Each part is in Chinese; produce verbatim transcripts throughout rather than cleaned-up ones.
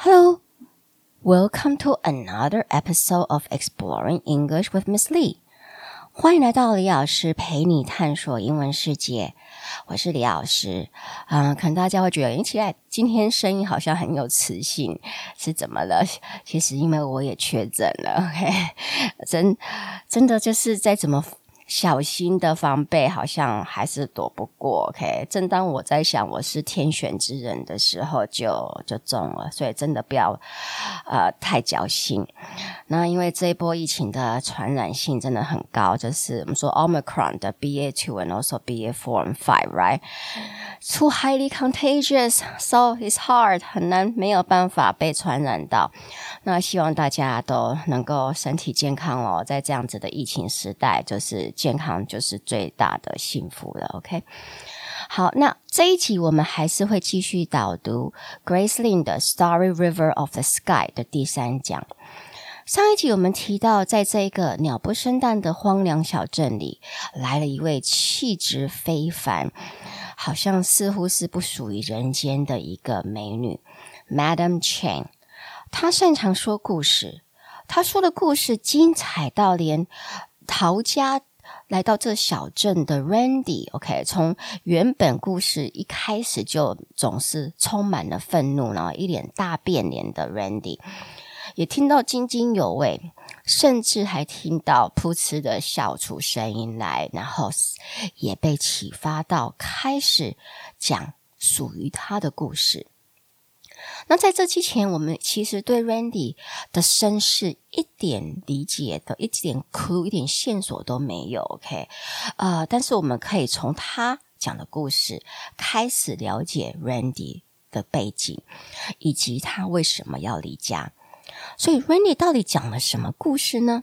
Hello, welcome to another episode of Exploring English with Miss Lee. 歡迎來到李老師陪你探索英文世界。我是李老師，嗯、呃，可能大家會覺得，誒，奇怪，今天聲音好像很有磁性，是怎麼了？其實因為我也確診了 ，OK， 真真的就是再怎麼小心的防備，好像還是躲不過 OK。正當我在想我是天選之人的時候就，就就中了，所以真的不要呃太僥幸。那因為這一波疫情的傳染性真的很高，就是我們說 Omicron 的 B A two and also B A four and five, right? Too highly contagious, so it's hard， 很難，沒有辦法被傳染到。那希望大家都能夠身體健康哦，在這樣子的疫情時代，就是健康就是最大的幸福了 ，OK？ 好，那這一集我們還是會繼續導讀 Grace Lin 的 Starry River of the Sky 的第三講。上一集我們提到，在這個鳥不生蛋的荒涼小鎮裡，來了一位氣質非凡，好像似乎是不屬於人間的一個美女 Madam Chang。她擅長說故事，她說的故事精彩到連逃家來到這小鎮的 Randy OK， 從原本故事一開始就總是充滿了憤怒，然後一臉大變臉的 Randy， 也聽到津津有味，甚至還聽到噗嗤的笑出聲音來，然後也被啟發到開始講屬於他的故事。那在這之前，我們其實對 Randy 的身世一點理解的一點 clue 一點線索都沒有 OK， 呃，但是我們可以從他講的故事開始了解 Randy 的背景，以及他為什麼要離家。所以 Randy 到底講了什麼故事呢？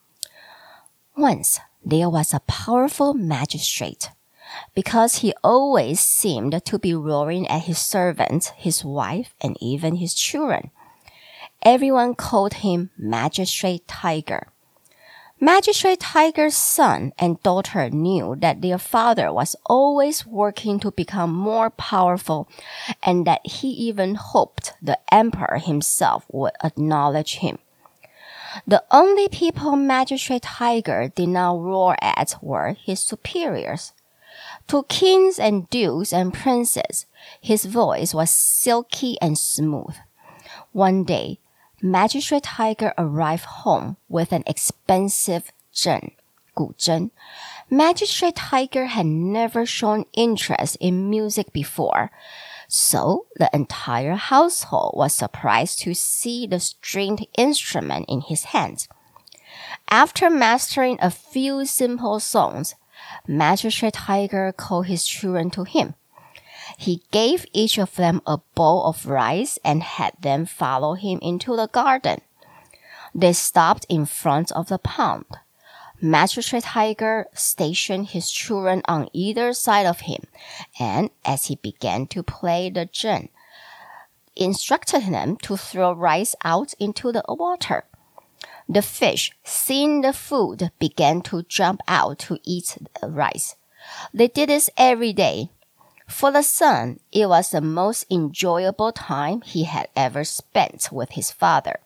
Once there was a powerful magistrate.Because he always seemed to be roaring at his servants, his wife, and even his children. Everyone called him Magistrate Tiger. Magistrate Tiger's son and daughter knew that their father was always working to become more powerful, and that he even hoped the emperor himself would acknowledge him.The only people Magistrate Tiger did not roar at were his superiors.To kings and dukes and princes, his voice was silky and smooth. One day, Magistrate Tiger arrived home with an expensive zheng, 古筝. Magistrate Tiger had never shown interest in music before, so the entire household was surprised to see the stringed instrument in his hands. After mastering a few simple songs,Magistrate Tiger called his children to him. He gave each of them a bowl of rice and had them follow him into the garden. They stopped in front of the pond. Magistrate Tiger stationed his children on either side of him, and as he began to play the zheng, instructed them to throw rice out into the water.The fish, seeing the food, began to jump out to eat the rice. They did this every day. For the son, it was the most enjoyable time he had ever spent with his father.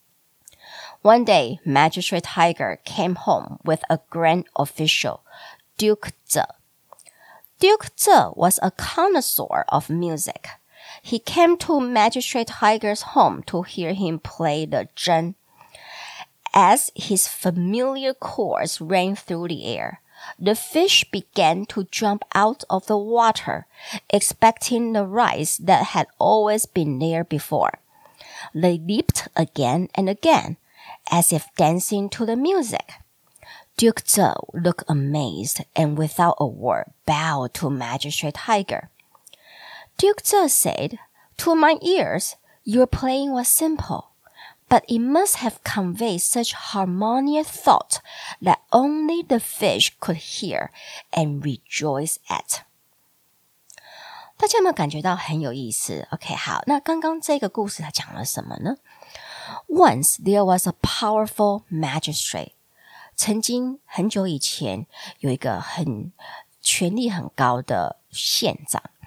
One day, Magistrate Tiger came home with a grand official, Duke Zhe. Duke Zhe was a connoisseur of music. He came to Magistrate Tiger's home to hear him play the zheng.As his familiar chords rang through the air, the fish began to jump out of the water, expecting the rice that had always been there before. They leaped again and again, as if dancing to the music. Duke Zhe looked amazed and without a word bowed to Magistrate Tiger. Duke Zhe said, "To my ears, your playing was simple.But it must have conveyed such harmonious thought that only the fish could hear and rejoice at." 大家有沒有感覺到很有意思 ？OK， 好，那剛剛這個故事它講了什麼呢？ Once there was a powerful magistrate. 曾經很久以前有一個很權力很高的縣長。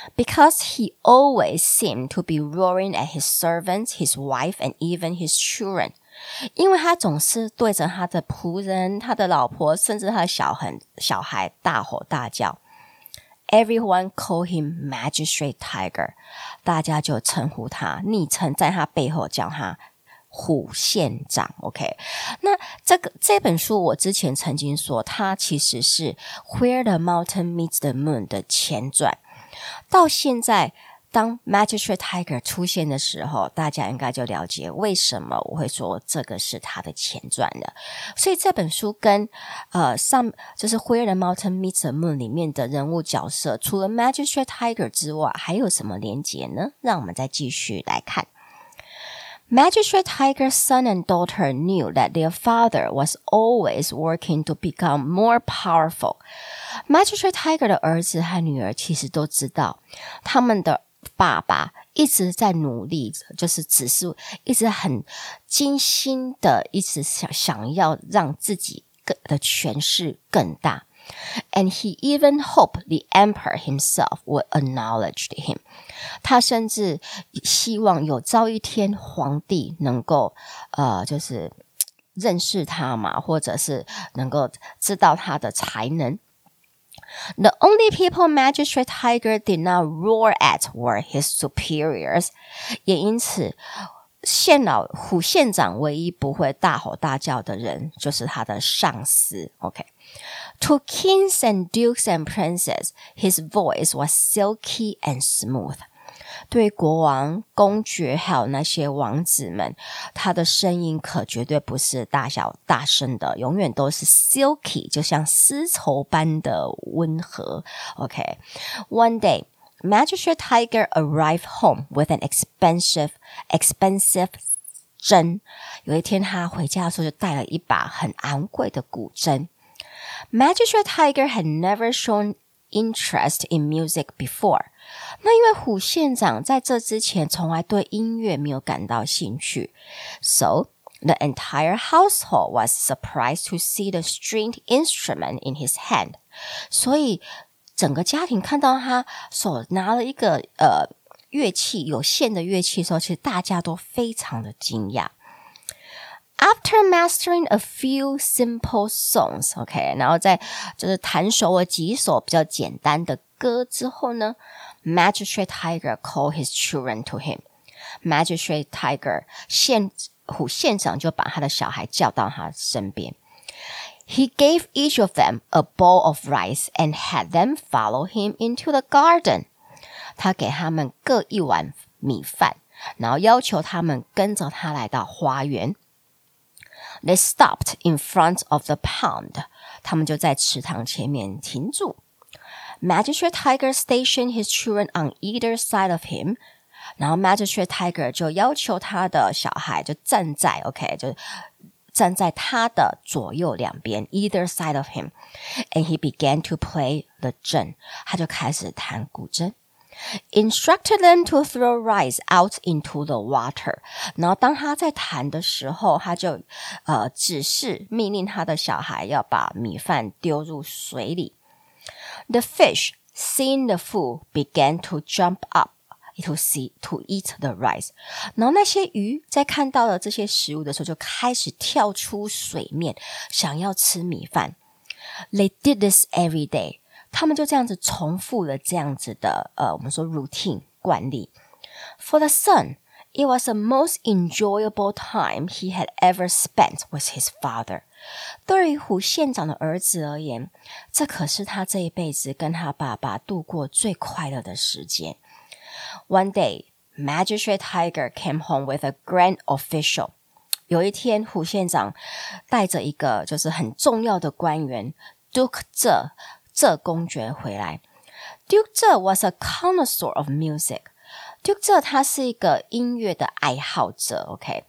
because he always seemed to be roaring at his servants, his wife, and even his children. 因為他總是對着他的僕人、他的老婆，甚至他的小孩、小孩大吼大叫。Everyone called him Magistrate Tiger. 大家就稱呼他，昵稱在他背後叫他虎縣長。OK， 那這個這本書我之前曾經說，它其實是 Where the Mountain Meets the Moon 的前傳。到現在，當 Magistrate Tiger 出現的時候，大家應該就了解為什麼我會說這個是他的前傳了。所以這本書跟呃上就是 Where the Mountain Meets the Moon 裡面的人物角色，除了 Magistrate Tiger 之外，還有什麼連結呢？讓我們再繼續來看。Magistrate Tiger's son and daughter knew that their father was always working to become more powerful. Magistrate Tiger 的兒子和女兒其實都知道，他們的爸爸一直在努力，就是只是一直很精心的，一直想想要讓自己的權勢更大。And he even hoped the emperor himself would acknowledge him. 他甚至希望有朝一天皇帝能夠呃，就是認識他嘛，或者是能夠知道他的才能。The only people Magistrate Tiger did not roar at were his superiors. 也因此，县老虎縣長唯一不會大吼大叫的人，就是他的上司。OK。To kings and dukes and princes, his voice was silky and smooth. 对國王、公爵還有那些王子們，他的聲音可絕對不是大小大聲的，永遠都是 silky， 就像絲綢般的溫和。OK， One day, Magistrate Tiger arrived home with an expensive, expensive 箏。有一天他回家的時候就帶了一把很昂貴的古箏。Magistrate Tiger had never shown interest in music before. 那因為虎縣長在這之前從來對音樂沒有感到興趣。So, the entire household was surprised to see the stringed instrument in his hand. 所以整個家庭看到他手拿了一個呃樂器，有線的樂器的時候，其實大家都非常的驚訝。After mastering a few simple songs, OK， 然後在就是彈熟了幾首比較簡單的歌之後呢 ，Magistrate Tiger called his children to him. Magistrate Tiger 縣虎縣長就把他的小孩叫到他身邊。He gave each of them a bowl of rice and had them follow him into the garden. 他給他們各一碗米飯，然後要求他們跟着他來到花園。They stopped in front of the pond. 他們就在池塘前面停住。Magistrate Tiger stationed his children on either side of him. 然後 Magistrate Tiger 就要求他的小孩就站在 OK 就站在他的左右兩邊 either side of him. And he began to play the 箏. 他就開始彈古箏。Instructed them to throw rice out into the water. 然後當他在彈的時候，他就呃指示命令他的小孩要把米飯丟入水裡。The fish, seeing the food, began to jump up to see to eat the rice. 然後那些魚在看到了這些食物的時候，就開始跳出水面，想要吃米飯。They did this every day.他們就這樣子重複了這樣子的呃，我們說 routine 慣例。For the son, it was the most enjoyable time he had ever spent with his father. 對於虎縣長的兒子而言，這可是他這一輩子跟他爸爸度過最快樂的時間。One day, Magistrate Tiger came home with a grand official. 有一天，虎縣長帶着一個就是很重要的官員 Duke Zhe這公爵回來。Duke Zhe was a connoisseur of music. Duke Zhe 他是一個音樂的愛好者 OK.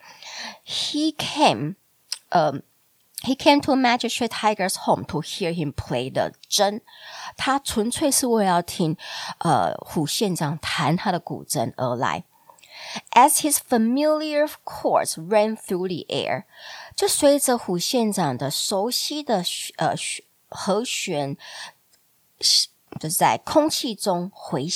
He came, um, he came to Magistrate Tiger's home to hear him play the 箏。他純粹是為了要聽呃虎縣長彈他的古箏而來。As his familiar chords ran through the air, 就隨着虎縣長的熟悉的呃和弦就是在空氣中回響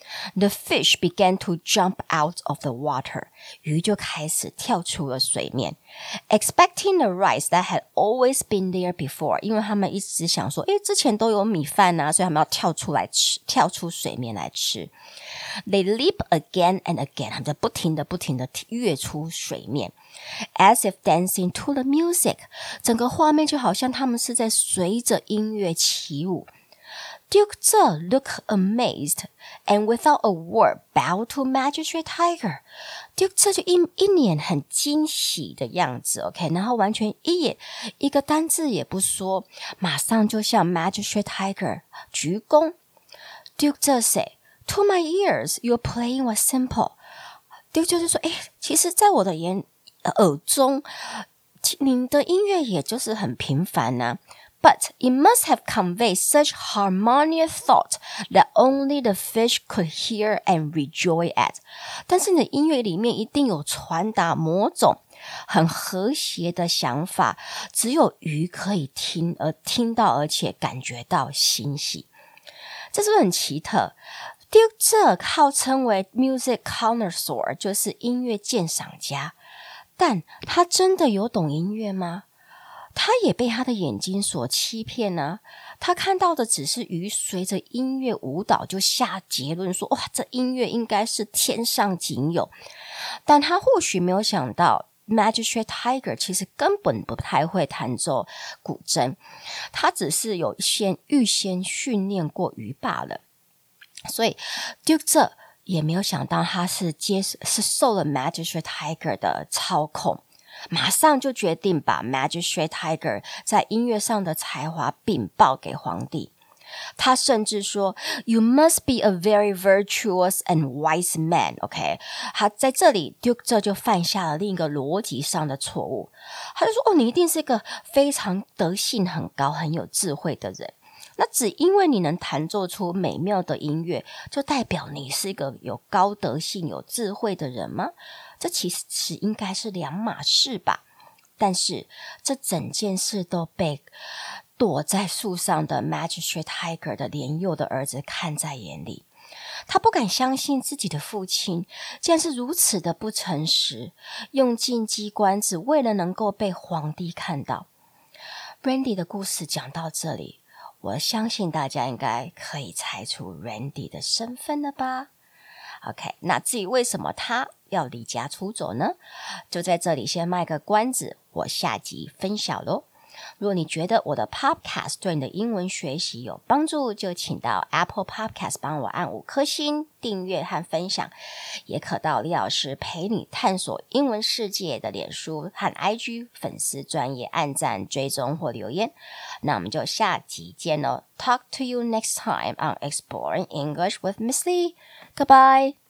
The fish began to jump out of the water. 魚就開始跳出了水面 ，expecting the rice that had always been there before. 因為他們一直想說，誒，之前都有米飯啊，所以他們要跳出來吃，跳出水面來吃。They leap again and again. 他們在不停的、不停的躍出水面 ，as if dancing to the music. 整個畫面就好像他們是在隨着音樂起舞。Duke Zhe looked amazed and without a word bowed to Magistrate Tiger. Duke Zhe 就一一臉很驚喜的樣子 ，OK， 然後完全一眼一個單字也不說，馬上就向 Magistrate Tiger 鞠躬。Duke Zhe said, "To my ears, your playing was simple." Duke Zhe 就說：“誒，其實在我的眼耳中，你的音樂也就是很平凡啊。But it must have conveyed such harmonious thought that only the fish could hear and rejoice at. 但是你的音樂裡面一定有傳達某種很和諧的想法，只有魚可以聽而聽到，而且感覺到欣喜。這是不是很奇特？ Duke Zhe 號稱為 music connoisseur， 就是音樂鑑賞家，但他真的有懂音樂嗎？他也被他的眼睛所欺騙啊，他看到的只是魚隨着音樂舞蹈，就下結論說，哇，這音樂應該是天上僅有。但他或許沒有想到 Magistrate Tiger 其實根本不太會彈奏古箏，他只是有先預先訓練過魚罷了。所以 Duke Zhe 也沒有想到他是接是受了 Magistrate Tiger 的操控，馬上就決定把 Magistrate Tiger 在音樂上的才華稟報給皇帝。他甚至說 You must be a very virtuous and wise man. OK， 他在這裡 Duke Zhe 就犯下了另一個邏輯上的錯誤。他就說，哦，你一定是一個非常德性很高很有智慧的人，那只因為你能彈奏出美妙的音樂，就代表你是一個有高德性有智慧的人嗎？這其實應該是兩碼事吧。但是這整件事都被躲在樹上的 Magistrate Tiger 的年幼的兒子看在眼裡，他不敢相信自己的父親竟然是如此的不誠實，用盡機關只為了能夠被皇帝看到。Randy 的故事講到這裡，我相信大家應該可以猜出 Randy 的身份了吧？ OK， 那至於為什麼他要離家出走呢？就在這裡先賣個關子，我下集分享咯。如果你覺得我的 Podcast 對你的英文學習有幫助，就請到 Apple Podcast 幫我按五顆星、訂閱和分享，也可到李老師陪你探索英文世界的臉書和 I G 粉絲專頁按讚、追蹤或留言。那我們就下集見咯。Talk to you next time on Exploring English with Miss Lee. Goodbye.